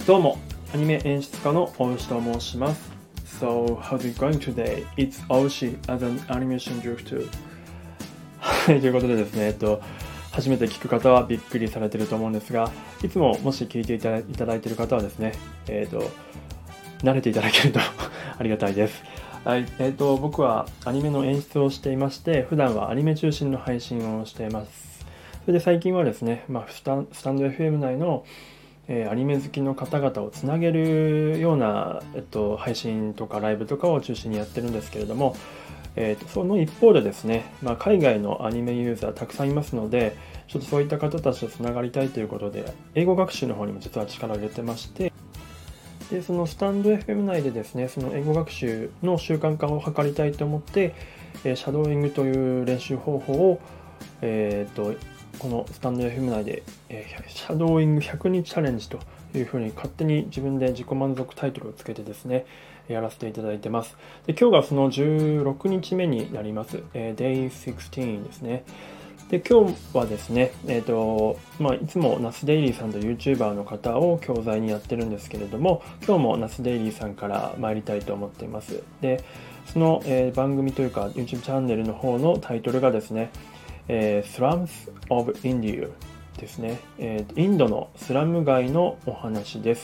どうも、アニメ演出家の大牛と申します。So, how's it going today? It's Aoshi as an animation director. はい、ということでですね、初めて聞く方はびっくりされていると思うんですが、いつももし聞いていただいている方はですね、慣れていただけるとありがたいです。はい、僕はアニメの演出をしていまして、普段はアニメ中心の配信をしています。それで最近はですね、スタンド FM 内のアニメ好きの方々をつなげるような、配信とかライブとかを中心にやってるんですけれども、その一方でですね、海外のアニメユーザーたくさんいますので、ちょっとそういった方たちとつながりたいということで、英語学習の方にも実は力を入れてまして、でそのスタンド FM 内でですね、その英語学習の習慣化を図りたいと思って、シャドーイングという練習方法を、このスタンド FM 内で、シャドーイング100日チャレンジというふうに勝手に自分で自己満足タイトルをつけてですね、やらせていただいてます。で今日がその16日目になります。Day 16ですね。で今日はですね、いつもナスデイリーさんと YouTuber の方を教材にやってるんですけれども、今日もナスデイリーさんから参りたいと思っています。でその、番組というか YouTube チャンネルの方のタイトルがですね、Slums of India ですね、インドのスラム街のお話です。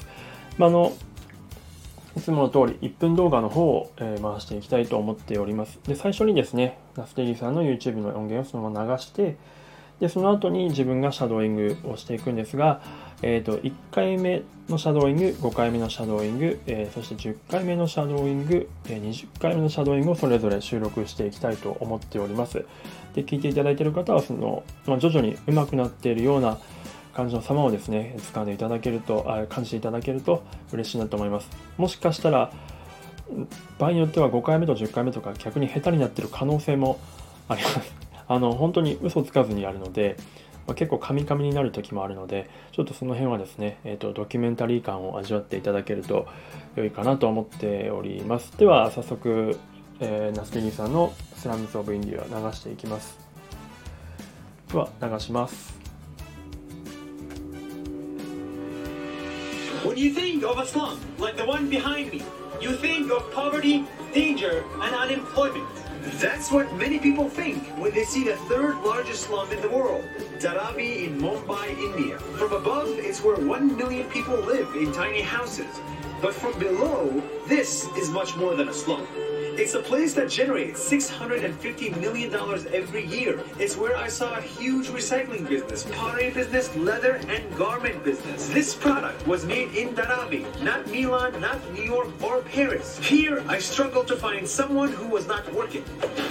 いつもの通り1分動画の方を、回していきたいと思っております。で最初にですね、ナステリーさんの YouTube の音源をそのまま流して、でその後に自分がシャドーイングをしていくんですが、1回目のシャドーイング、5回目のシャドーイング、そして10回目のシャドーイング、20回目のシャドーイングをそれぞれ収録していきたいと思っております。で聞いていただいている方はその、徐々に上手くなっているような感じの様をですね、掴んでいただけると、感じていただけると嬉しいなと思います。もしかしたら場合によっては5回目と10回目とか逆に下手になっている可能性もあります。本当に嘘つかずにやるので、結構カミカミになる時もあるので、ちょっとその辺はですね、ドキュメンタリー感を味わっていただけると良いかなと思っております。では早速、ナスケニーさんのスラムズ・オブ・インディア流していきます。では流します。 When you think of a slum like the one behind me, you think of poverty, danger, and unemployment. That's what many people think when they see the third largest slum in the world, Dharavi in Mumbai, India. From above, it's where 1 million people live in tiny houses. But from below, this is much more than a slum. It's a place that generates $650 million every year. It's where I saw a huge recycling business, pottery business, leather, and garment business. This product was made in Dharavi, not Milan, not New York, or Paris. Here, I struggled to find someone who was not working.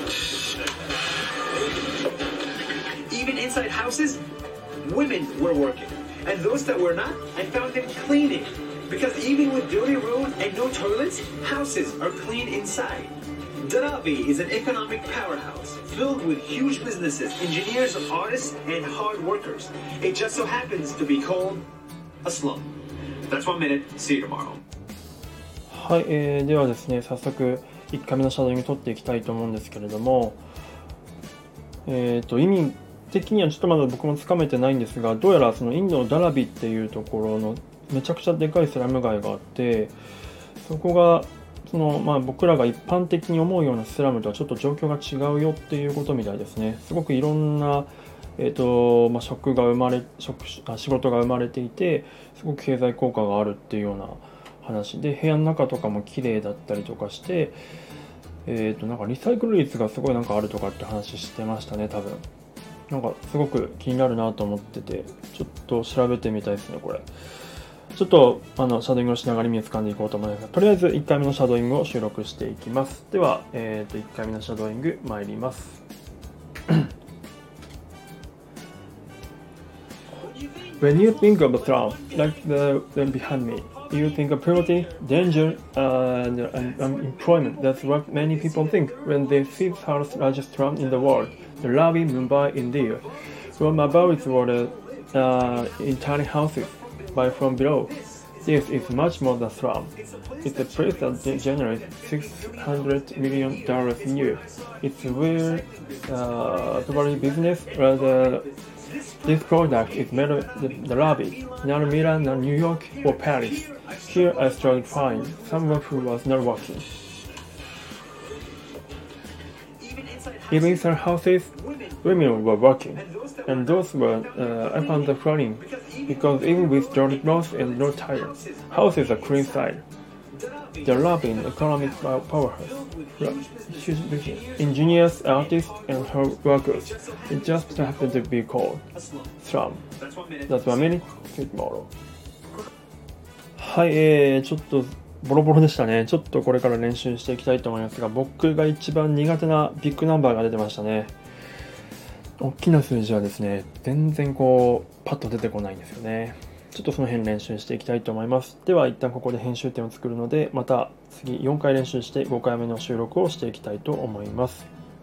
Even inside houses, women were working. And those that were not, I found them cleaning. Because even with dirty roads and no toilets, houses are clean inside. Dharavi is an economic powerhouse filled with huge businesses, engineers, artists, and hard workers. It just so happens to be called a slum. That's 1 minute. See you tomorrow. はい、ではですね、早速1回目のシャドーイング取っていきたいと思うんですけれども、意味的にはちょっとまだ僕もつかめてないんですが、どうやらそのインドのダラビっていうところのめちゃくちゃでかいスラム街があって、そこがその、僕らが一般的に思うようなスラムとはちょっと状況が違うよっていうことみたいですね。すごくいろんな、仕事が生まれていて、すごく経済効果があるっていうような話で、部屋の中とかも綺麗だったりとかして、なんかリサイクル率がすごいなんかあるとかって話してましたね、多分。なんかすごく気になるなと思ってて、ちょっと調べてみたいですね、これ。ちょっとシャドーイングをしながら意味をつかんでいこうと思いますが、とりあえず1回目のシャドーイングを収録していきます。では、1回目のシャドーイング参ります。When you think of a slum, like the one behind me, you think of poverty, danger, and unemployment. That's what many people think when they see the third largest slum in the world, Dharavi, Mumbai, India. From above is water in tiny houses. But from below, this is much more than slum. It's a place that generates $600 million a year. It's where property business, this product is made in Dharavi, not Milan, not New York or Paris. Here I struggled to find someone who was not working. Even inside houses, women were working, and those were I found them funny because even with dirty clothes and no tires, houses are clean inside. They're loving economic powerhouse. Huge business. Engineers, artists, and hard workers. It just happened to be called slum. That's 1 minute tomorrow. はい、ちょっとボロボロでしたね。ちょっとこれから練習していきたいと思いますが、僕が一番苦手なビッグナンバーが出てましたね。大きな数字はですね、全然こうパッと出てこないんですよね。ちょっとその辺練習していきたいと思います。では一旦ここで編集点を作るので、また次4回練習して5回目の収録をしていきたいと思います。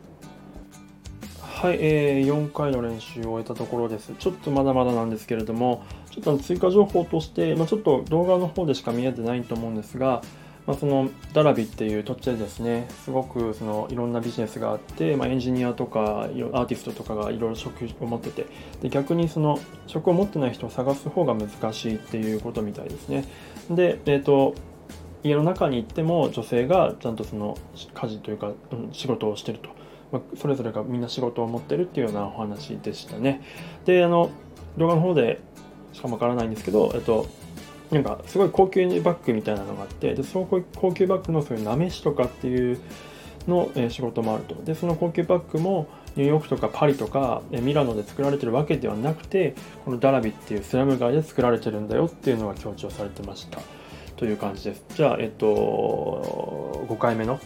はい、4回の練習を終えたところです。ちょっとまだまだなんですけれども、ちょっと追加情報として、ちょっと動画の方でしか見えてないと思うんですが、そのダラビっていう土地でですね、すごくそのいろんなビジネスがあって、エンジニアとかアーティストとかがいろいろ職を持ってて、で逆にその職を持ってない人を探す方が難しいっていうことみたいですね。で、家の中に行っても女性がちゃんとその家事というか、仕事をしてると。それぞれがみんな仕事を持ってるっていうようなお話でしたね。で、動画の方でしかもわからないんですけど、なんかすごい高級バッグみたいなのがあって、でその高級バッグのそういうなめしとかっていうの、仕事もあると。でその高級バッグもニューヨークとかパリとかミラノで作られてるわけではなくて、このダラビっていうスラム街で作られてるんだよっていうのが強調されてましたという感じです。じゃあ、5回目の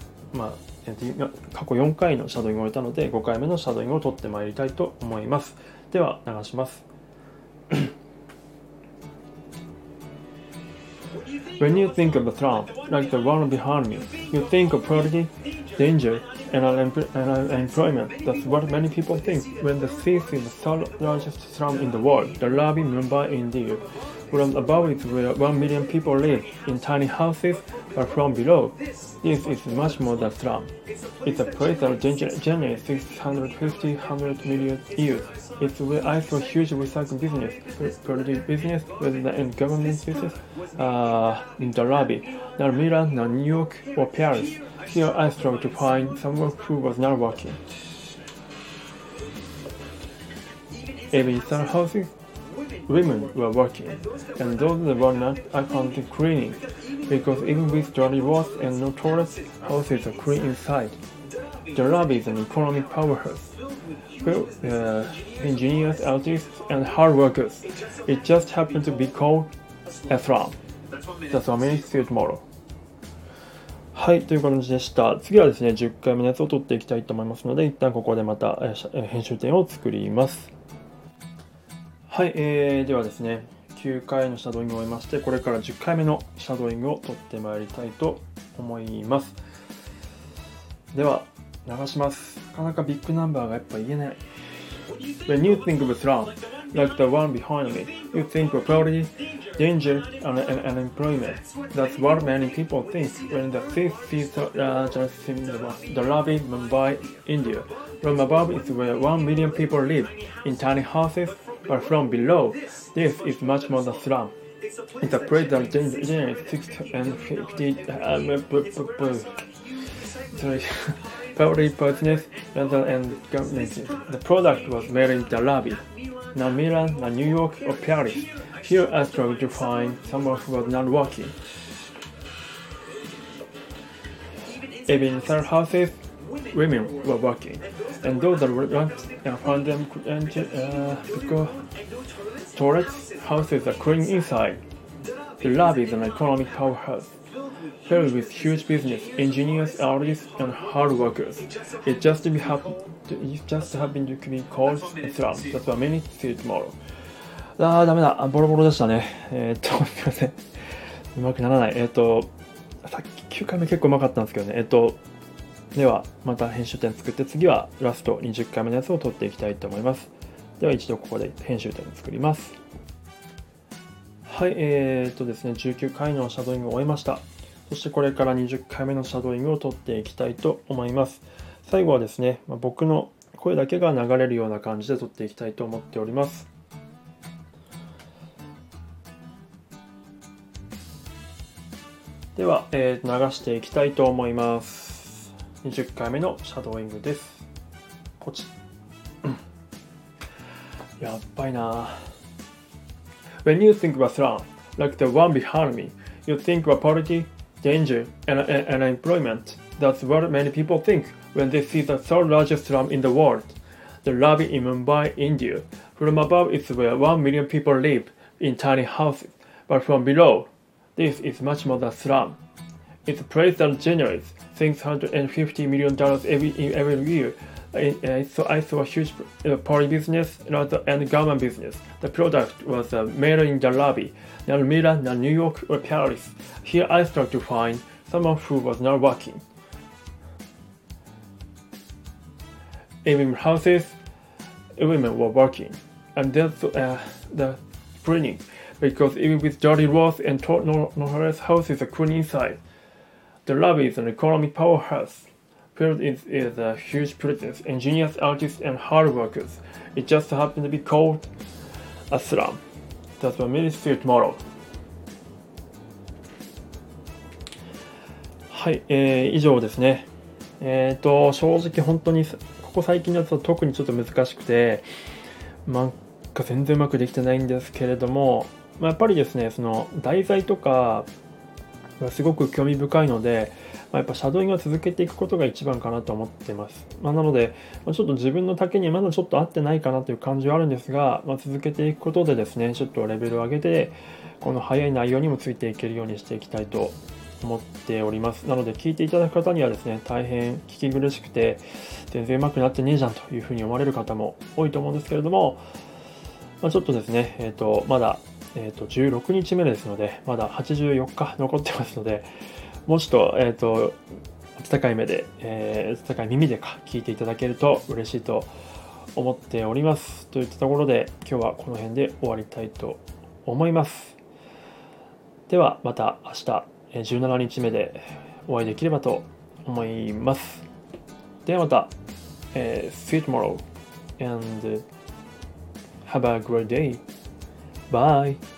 過去4回のシャドウイングを終えたので、5回目のシャドウイングを取ってまいりたいと思います。では流します。When you think of a slum, like the one behind me, you think of poverty, danger, and unemployment. That's what many people think when they see the third largest slum in the world, the Ravi Mumbai, India. From above is where 1 million people live in tiny houses, but from below, this is much more than slum. It's a place that generates 650 million years. It's where I saw huge recycling business, productive business, rather than government business, in the Ravi, not Milan, not New York or Paris. Here I struggled to find someone who was not working. Even inside houses, women were working, and those that were not, I found them cleaning, because even with dirty walls and no toilets, houses are clean inside. The Ravi is an economic powerhouse. Engineers, artists, and hard workers. It just happened to be called a slum. That's 1 minute, see you tomorrow. はい、という感じでした。次はですね、10回目のやつを取っていきたいと思いますので、一旦ここでまた編集点を作ります。はい、ではですね、9回のシャドウイングを終えまして、これから10回目のシャドウイングを取ってまいりたいと思います。では、流します。なかなかビッグナンバーがやっぱ言えない。When you think of a slum, like the one behind me, you think of poverty, danger, and unemployment. That's what many people think when they see the Ravi, Mumbai, India. From above is where 1 million people live in tiny houses, but from below, this is much more than slum. It's a place that generates 650 poverty business rather than government. The product was made in the Ravi, not Milan, not New York or Paris. Here I struggled to find someone who was not working. Even inside houses, women were working, and those that were not, found them because toilets, houses are clean inside. The Ravi is an economic powerhouse, filled with huge business, engineers, artists, and hard workers. It just happened to be called a slum. That's 1 minute, see you tomorrow. ダメだ。ボロボロでしたね。すいません。うまくならない。さっき9回目結構うまかったんですけどね。では、また編集点作って、次はラスト20回目のやつを取っていきたいと思います。では、一度ここで編集点を作ります。はい、ですね、19回のシャドウイングを終えました。そしてこれから20回目のシャドウイングを取っていきたいと思います。最後はですね、僕の声だけが流れるような感じで取っていきたいと思っております。 では、流していきたいと思います。20回目のシャドーイングです。ポチやっばいな。When you think about slum, like the one behind me, you think about poverty, danger, and unemployment. That's what many people think when they see the third largest slum in the world, the Ravi in Mumbai, India. From above is where 1 million people live in tiny houses, but from below, this is much more than slum. It's a place that generates $650 million every year. So I saw a huge party business and government business. The product was made in Dharavi, not Milan, not New York or Paris. Here I started to find someone who was not working. Even houses, women were working. And that's the cleaning, because even with dirty walls and notorious houses are clean inside. Dharavi is an economic powerhouse. Filled is a huge presence, engineers, artists, and hard workers. It just happened to be called a slum. That's what many see tomorrow. はい、以上ですね。正直本当にここ最近のやつは特にちょっと難しくて、なんか全然うまくできてないんですけれども、やっぱりですね、その題材とかがすごく興味深いので、やっぱシャドーイングを続けていくことが一番かなと思っています。なので、ちょっと自分の丈にまだちょっと合ってないかなという感じはあるんですが、続けていくことでですね、ちょっとレベルを上げて、この早い内容にもついていけるようにしていきたいと思っております。なので、聞いていただく方にはですね、大変聞き苦しくて、全然上手くなってねえじゃんというふうに思われる方も多いと思うんですけれども、ちょっとですね、まだ、16日目ですので、まだ84日残ってますので、もうちょっと、温かい目で、温かい耳で聞いていただけると嬉しいと思っております。といったところで、今日はこの辺で終わりたいと思います。では、また明日、17日目でお会いできればと思います。ではまた、See you tomorrow and have a great day. Bye.